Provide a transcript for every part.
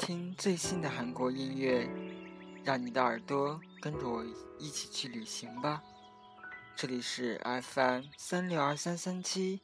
听最新的韩国音乐，让你的耳朵跟着我一起去旅行吧。这里是 FM362337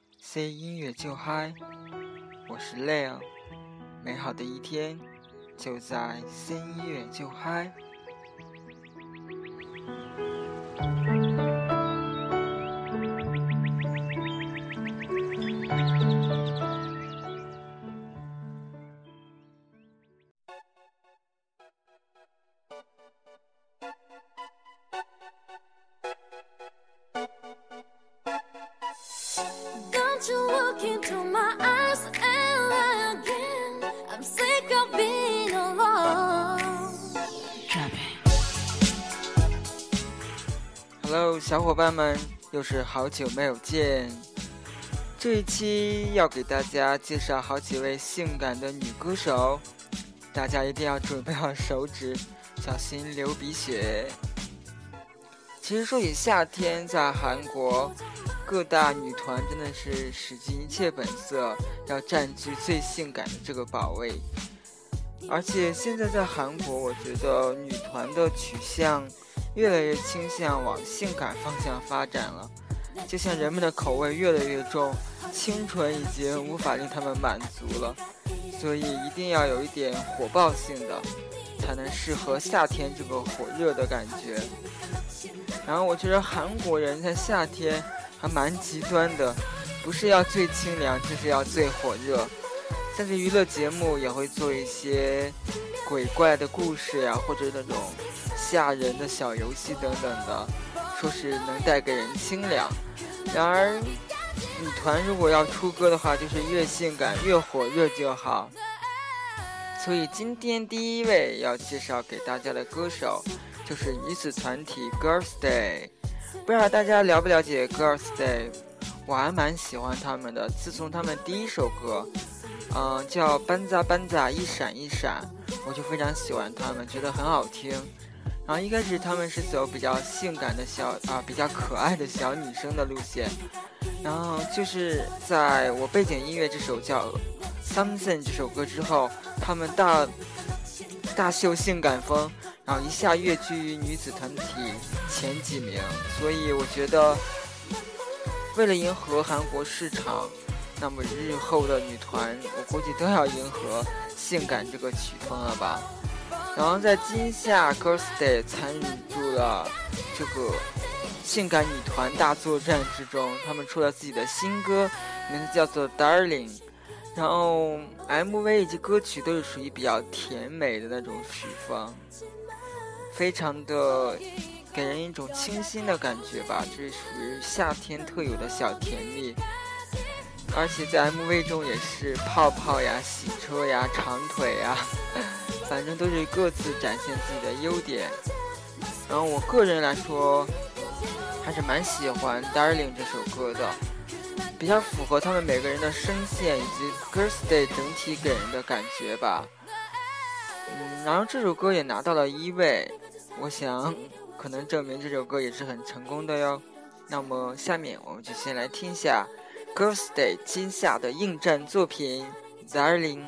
C 音乐就嗨，我是 Leo， 美好的一天就在 C 音乐就嗨。Hello， 小伙伴们，又是好久没有见。这一期要给大家介绍好几位性感的女歌手，大家一定要准备好手指，小心流鼻血。其实说起夏天，在韩国各大女团真的是使尽一切本色，要占据最性感的这个宝位。而且现在在韩国，我觉得女团的取向越来越倾向往性感方向发展了，就像人们的口味越来越重，清纯已经无法令他们满足了，所以一定要有一点火爆性的，才能适合夏天这个火热的感觉。然后我觉得韩国人在夏天还蛮极端的，不是要最清凉，就是要最火热。但是娱乐节目也会做一些鬼怪的故事呀，或者那种吓人的小游戏等等的，说是能带给人清凉。然而女团如果要出歌的话，就是越性感越火热就好。所以今天第一位要介绍给大家的歌手就是女子团体 Girls Day。 不知道大家了不了解 Girls Day， 我还蛮喜欢他们的。自从他们第一首歌叫班扎班扎一闪一闪，我就非常喜欢他们，觉得很好听。然后一开始他们是走比较性感的比较可爱的小女生的路线，然后就是在我背景音乐这首叫 Something 这首歌之后，他们大秀性感风，然后一下跃居于女子团体前几名。所以我觉得为了迎合韩国市场，那么日后的女团我估计都要迎合性感这个曲风了吧。然后在今夏 Girls Day 参与入了这个性感女团大作战之中，他们出了自己的新歌，名字叫做 Darling。 然后 MV 以及歌曲都是属于比较甜美的那种曲风，非常的给人一种清新的感觉吧，这是属于夏天特有的小甜蜜。而且在 MV 中也是泡泡呀、洗车呀、长腿呀，反正都是各自展现自己的优点。然后我个人来说还是蛮喜欢 Darling 这首歌的，比较符合他们每个人的声线以及 Girls Day 整体给人的感觉吧。然后这首歌也拿到了1位，我想可能证明这首歌也是很成功的哟。那么下面我们就先来听一下Girls Day 今夏的应战作品 Darling。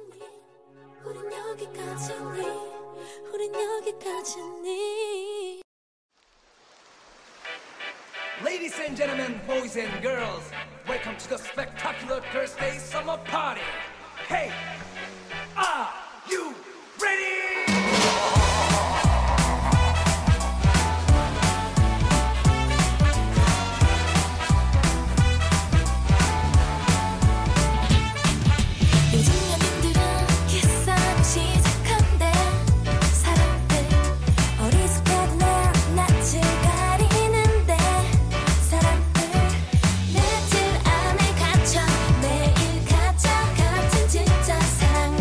Ladies and gentlemen, boys and girls, welcome to the spectacular Girls Day summer party. Hey, are you ready? 내 질 안에 갇혀 매일 가져 같은 진짜 사랑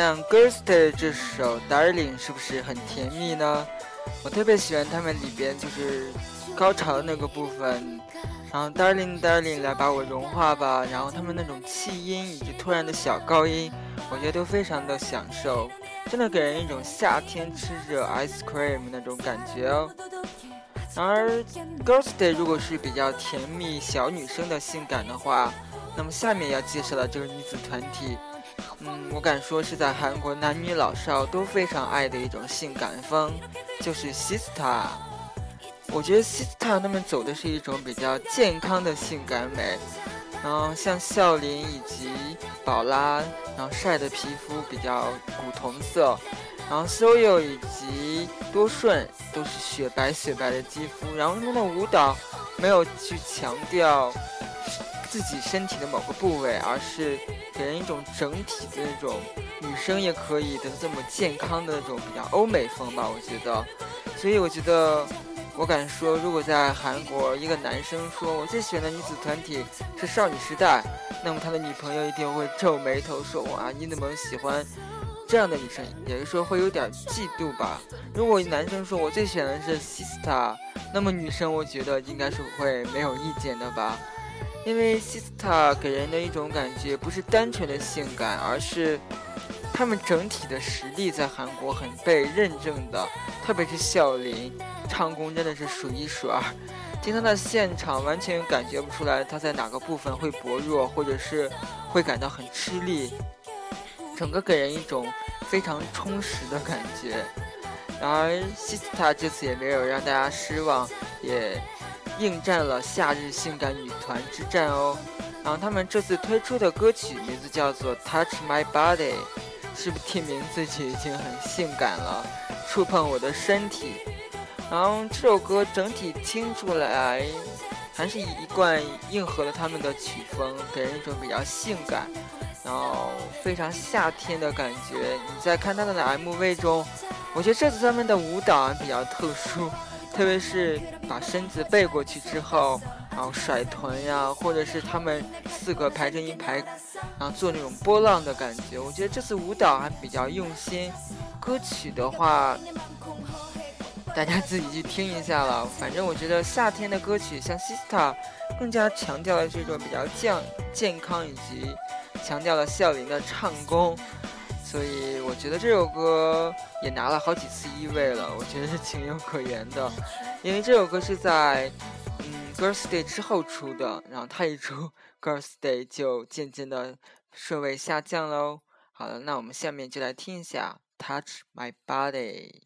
样 Girls' Day 这首 Darling 是不是很甜蜜呢？我特别喜欢他们里边就是高潮的那个部分，然后 Darling Darling 来把我融化吧，然后他们那种气音以及突然的小高音，我觉得都非常的享受，真的给人一种夏天吃着 ice cream 那种感觉哦。然而 Girls' Day 如果是比较甜蜜小女生的性感的话，那么下面要介绍的这个女子团体，我敢说是在韩国男女老少都非常爱的一种性感风，就是 Sistar。 我觉得 Sistar 他们走的是一种比较健康的性感美，然后像孝琳以及宝拉，然后晒的皮肤比较古铜色，然后 Soyo 以及多顺都是雪白雪白的肌肤，然后他们的舞蹈没有去强调自己身体的某个部位，而是给人一种整体的那种女生也可以的这么健康的那种比较欧美风吧，我觉得。所以我觉得我敢说，如果在韩国一个男生说我最喜欢的女子团体是少女时代，那么他的女朋友一定会皱眉头说，哇，你怎么喜欢这样的女生，也就是说会有点嫉妒吧。如果男生说我最喜欢的是 Sistar， 那么女生我觉得应该是会没有意见的吧。因为 Sistar 给人的一种感觉不是单纯的性感，而是他们整体的实力在韩国很被认证的，特别是孝琳唱功真的是数一数二，听他的现场完全感觉不出来他在哪个部分会薄弱，或者是会感到很吃力，整个给人一种非常充实的感觉。然而 Sistar 这次也没有让大家失望，也应战了夏日性感女团之战哦。然后他们这次推出的歌曲名字叫做 Touch My Body， 是不是听名字就已经很性感了，触碰我的身体。然后这首歌整体听出来还是一贯应和了他们的曲风，给人一种比较性感，然后非常夏天的感觉。你在看他们的 MV 中，我觉得这次他们的舞蹈比较特殊，特别是把身子背过去之后，然后甩臀呀，或者是他们4个排成一排，然后做那种波浪的感觉。我觉得这次舞蹈还比较用心。歌曲的话，大家自己去听一下了。反正我觉得夏天的歌曲像 Sistar 更加强调了这种比较健康，以及强调了孝琳的唱功。所以我觉得这首歌也拿了好几次1位了，我觉得是情有可原的。因为这首歌是在Girls' Day 之后出的，然后它一出 Girls' Day 就渐渐的顺位下降喽。好了，那我们下面就来听一下 Touch My Body。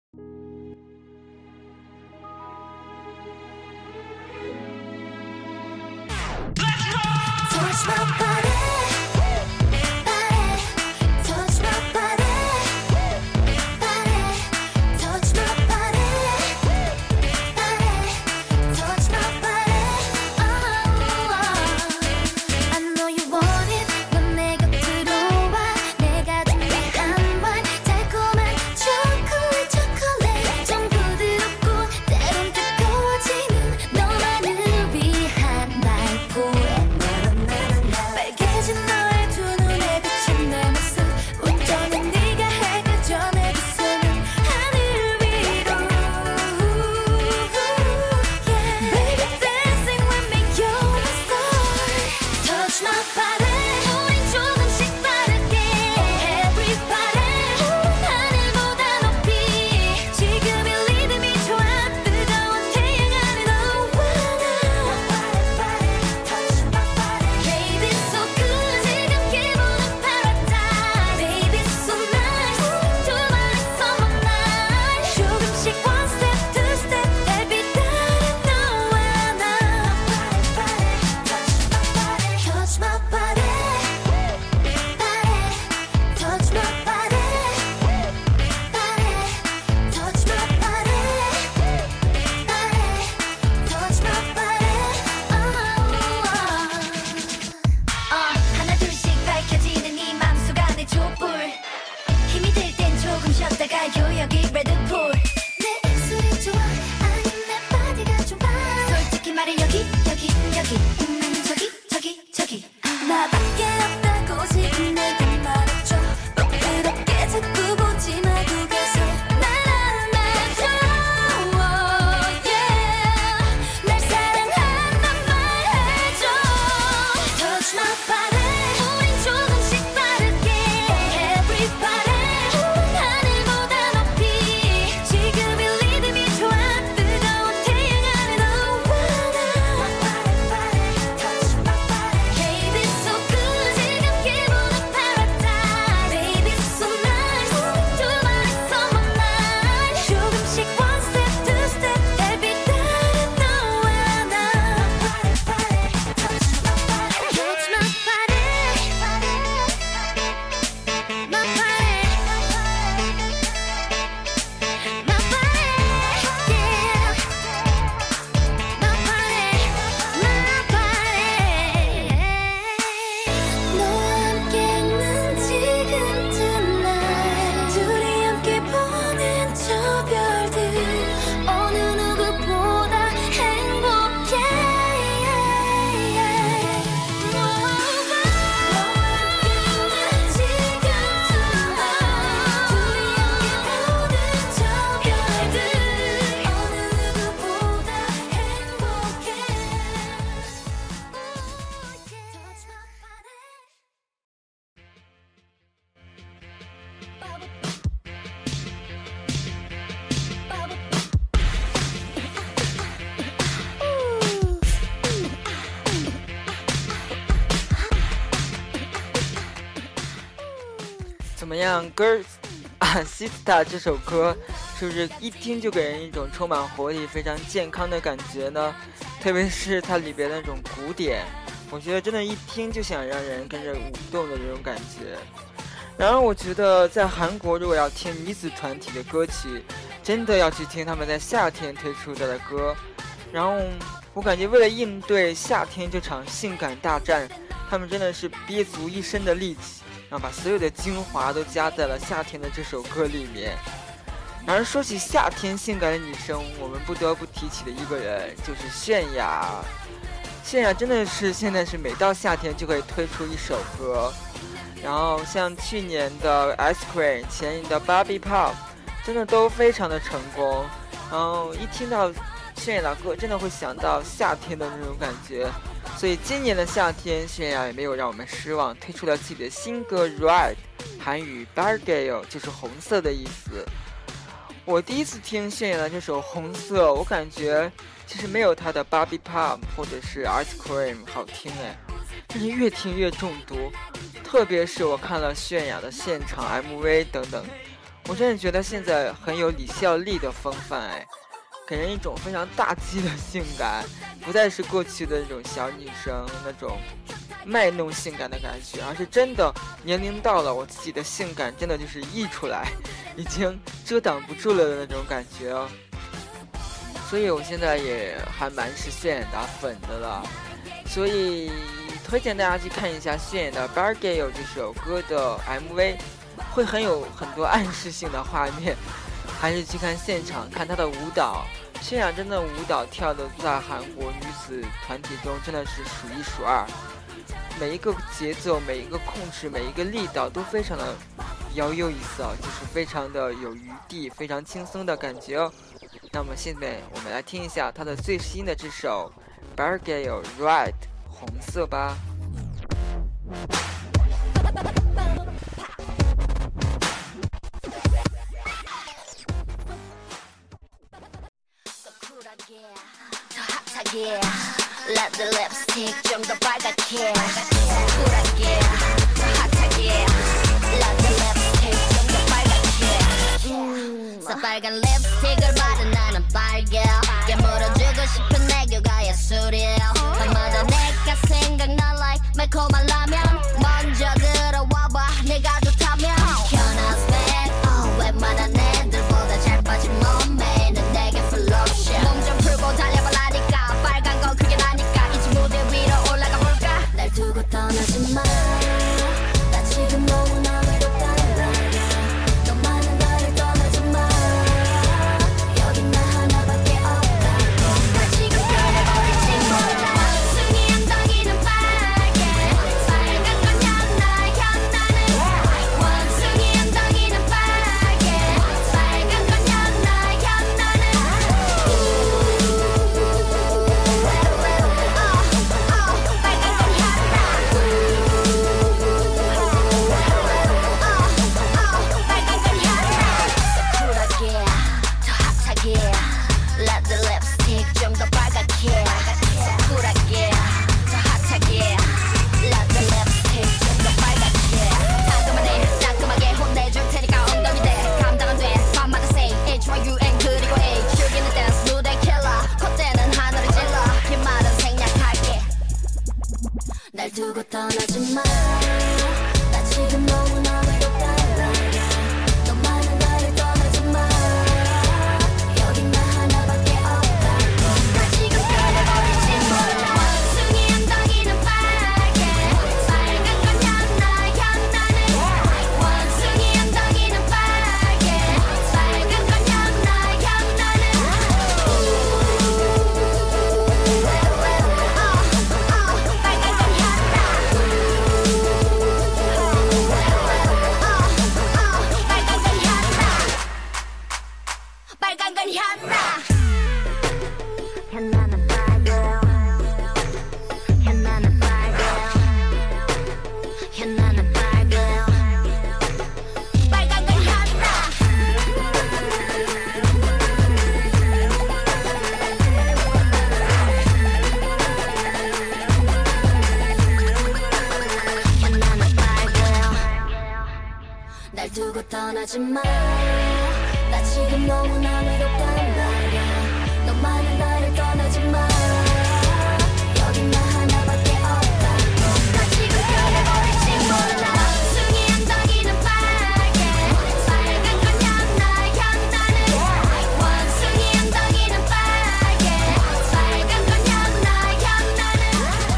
Touch my body, touch my body, touch my body, touch my body. I know you want it. 넌 내 곁으로 와. 내가 준비한 말 달콤한 초콜릿 좀 부드럽고 때론 뜨거워지는 너만을 위한 날 포에. 样Girls Sister 这首歌是不是一听就给人一种充满活力非常健康的感觉呢？特别是它里边的那种鼓点，我觉得真的一听就想让人跟着舞动的这种感觉。然后我觉得在韩国如果要听女子团体的歌曲，真的要去听他们在夏天推出的歌。然后我感觉为了应对夏天这场性感大战，他们真的是憋足一身的力气，然后把所有的精华都加在了夏天的这首歌里面。然而说起夏天性感的女生，我们不得不提起的一个人就是泫雅。泫雅真的是现在是每到夏天就可以推出一首歌，然后像去年的 Ice Cream， 前年的 Barbie Pop， 真的都非常的成功。然后一听到泫雅的歌，真的会想到夏天的那种感觉。所以今年的夏天，泫雅也没有让我们失望，推出了自己的新歌 Red， 韩语 Bargale 就是红色的意思。我第一次听泫雅的这首红色，我感觉其实没有她的 Barbie Pop 或者是 Ice Cream 好听哎，但是越听越中毒。特别是我看了泫雅的现场 MV 等等，我真的觉得现在很有李孝利的风范哎，给人一种非常大气的性感，不再是过去的那种小女生那种卖弄性感的感觉，而是真的年龄到了，我自己的性感真的就是溢出来，已经遮挡不住了的那种感觉哦。所以我现在也还蛮是泫雅的粉的了，所以推荐大家去看一下泫雅的 Bargale 这首歌的 MV， 会有很多暗示性的画面，还是去看现场看她的舞蹈。泫雅真的舞蹈跳的在韩国女子团体中真的是数一数二，每一个节奏、每一个控制、每一个力道都非常的摇有意思哦，就是非常的有余地，非常轻松的感觉哦。那么现在我们来听一下她的最新的这首 Bargale Red 红色吧。 Yeah, let the lipstick 좀 더 빨갛게 쿨하게 핫하게 let the lipstick 좀 더 빨갛게 새빨간 립스틱을 바른 나는 빨개 깨물어주고 싶은 애교가 예술이야 밤마다 내가 생각나 like 매콤한 라면 먼저 들어와봐 내가 좋다면 Can I spend 웬만한 애들보다 잘 빠진 몸매 는 내게 full option 몸 좀 풀고 달려봐라니까 빨간 건 그게 나니까 이제 무대 위로 올라가 볼까 날 두고 떠나지 마 나 지금 너무나 외롭다는 말이야 너만은 나를 떠나지 마 여긴 나 하나밖에 없다고 나 지금 변해버릴지 몰라 원숭이 엉덩이는 빨개 빨간 건 연나는 원숭이 엉덩이는 빨개 빨간 건 연나는 Let the lipstick 좀 더 빨갛게 쿨하게 더 핫하게 Let the lipstick 좀 더 빨갛게 따끔하네 따끔하게 혼내줄 테니까 엉덩이 대 감당 안 돼 밤마다 say HYUN 그리고 A 즐기는 댄스 무대 킬러 콧대는 하늘을 찔러 긴 말은 생략할게 날 두고 떠나지 마 나 지금 너무나 외롭다는 말이야 너만은 나를 떠나지 마 여긴 나 하나밖에 없다고 나 지금 변해버릴지 몰라 원숭이 엉덩이는 빨개 빨간 건 연나는 원숭이 엉덩이는 빨개 빨간 건 연나는 빨간 건 연나 떠나지마 나 지금 너무나 외롭단 말야 너만은 나를 떠나지마 여긴 나 하나밖에 없다고 나 지금 변해버릴지 몰라 원숭이 엉덩이는 빨개 빨간 건 향나 향나는 원숭이 엉덩이는 빨개 빨간 건 향나 향나는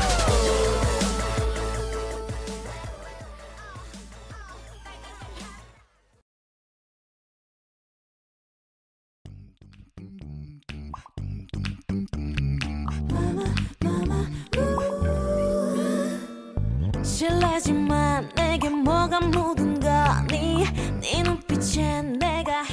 실례지만 내게 뭐가 묻은 거니 네 눈빛에 내가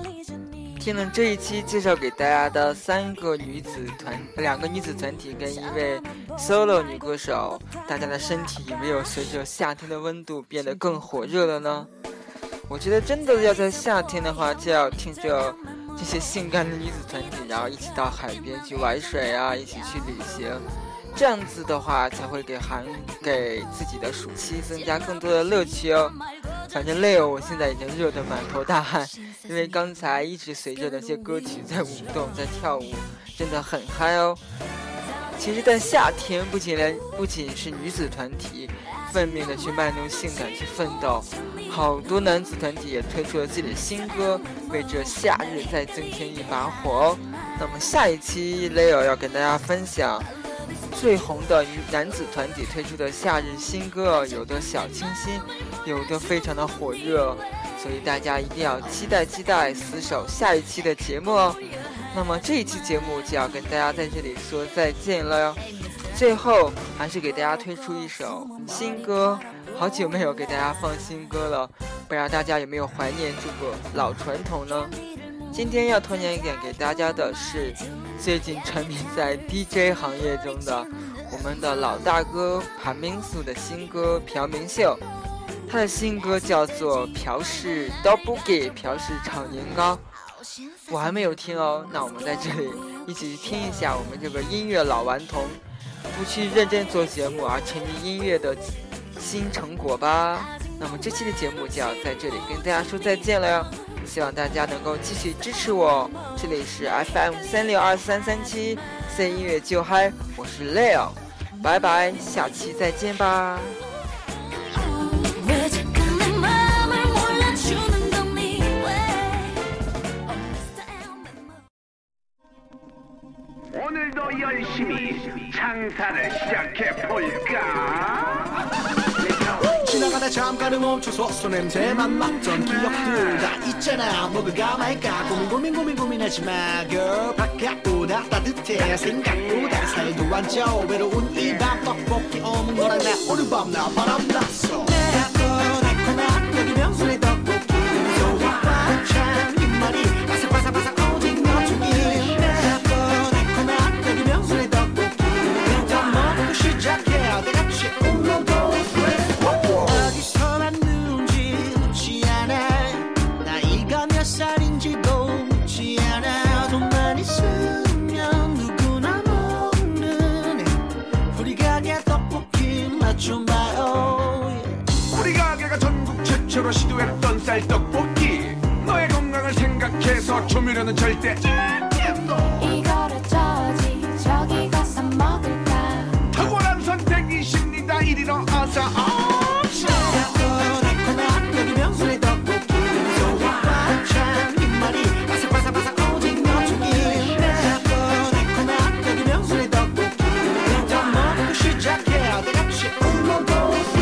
헷갈리잖니 听了这一期介绍给大家的2个女子团体跟一位 solo 女歌手，大家的身体有没有随着夏天的温度变得更火热了呢？我觉得真的要在夏天的话，就要听着这些性感的女子团体，然后一起到海边去玩水啊，一起去旅行，这样子的话才会给自己的暑期增加更多的乐趣哦。反正累哦，我现在已经热得满头大汗，因为刚才一直随着那些歌曲在舞动，在跳舞，真的很嗨哦。其实在夏天不仅是女子团体奋命的去卖弄性感去奋斗，好多男子团体也推出了自己的新歌，为这夏日再增添一把火哦。那么下一期 Leo 要跟大家分享最红的男子团体推出的夏日新歌，有的小清新，有的非常的火热，所以大家一定要期待死守下一期的节目哦。那么这一期节目就要跟大家在这里说再见了哟。最后还是给大家推出一首新歌，好久没有给大家放新歌了，不知道大家有没有怀念这个老传统呢？今天要推荐给大家的是最近沉迷在 DJ 行业中的我们的老大哥潘明素的新歌朴明秀，他的新歌叫做朴氏 Double 朴氏炒年糕，我还没有听哦。那我们在这里一起听一下我们这个音乐老顽童不去认真做节目而沉迷音乐的新成果吧。那么这期的节目就要在这里跟大家说再见了哟，希望大家能够继续支持我。这里是 FM362337 C 音乐就嗨，我是 Leo， 拜拜，下期再见吧。 오늘도 열심히 장사를 시작해볼까? 지나가다 잠깐은 멈춰서 손냄새만 맡던 기억들 다 있잖아. 먹을까 말까 고민하지 마 girl. 바깥보다 따뜻해 생각보다 살도 안 쪄. 외로운 이 밤 떡볶이 없는 거랑 나 오늘 밤 나 바람났어. 달콤한 여기 명순의 떡볶이 소화 반찬 입맛이 바삭바삭바삭 오징어 튀김. 달콤한 여기 명순의 떡볶이 그냥 다 먹고 시작해. 다같이 울어도 어디서 왔는지 묻지 않아. 나이가 몇 살인지도 묻지 않아. 돈만 있으면 누구나 먹는 우리 가게 떡볶이 맛 좀 봐요. 우리 가게가 전국 최초로 시도했던 쌀떡볶이. 너의 건강을 생각해서 조미료는 절대 이거를 저지 저기 가서 먹을까. 탁월한 선택이십니다. 이리로 어서 달콤한 여기 명순의 떡볶이 소화 반찬 입맛이 바삭바삭바삭 오징어 튀김. 달콤한 여기 명순의 떡볶이 그냥 다 먹고 시작해. 다같이 울어도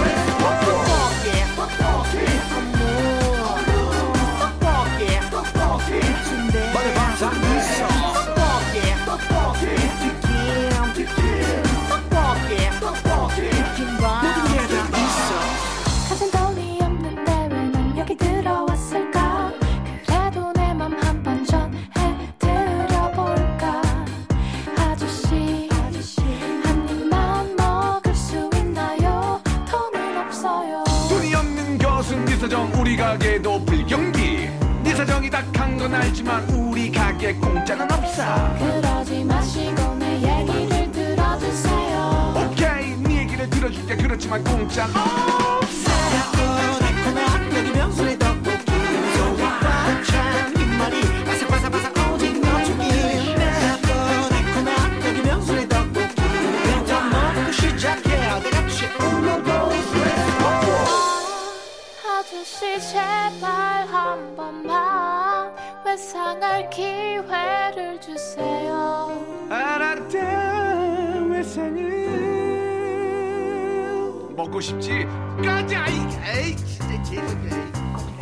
떡볶이 순대 마늘 바삭 있어. 떡볶이 떡볶이 튀김밥 모든 게 다 있어. 가진 돈이 없는데 왜 난 여기 들어왔을까. 그래도 내 맘 한 번 전해드려볼까. 아저씨 한 입만 먹을 수 있나요. 돈은 없어요. 돈이 없는 것은 네 사정. 우리 가게도 불경기. 네 사정이 닥한 건 알지만 우리 가게 공짜는 없어. 그러지 마시고 내 얘기를 들어주세요. 오케이 네 얘기를 들어줄게. 그렇지만 공짜는 없어. 달콤한 여기 명순의 떡볶이 아저씨 제발 한 번만 외상할 기회를 주세요. 알았다 외상은 먹고 싶지 가자. 에이 진짜 개새끼야.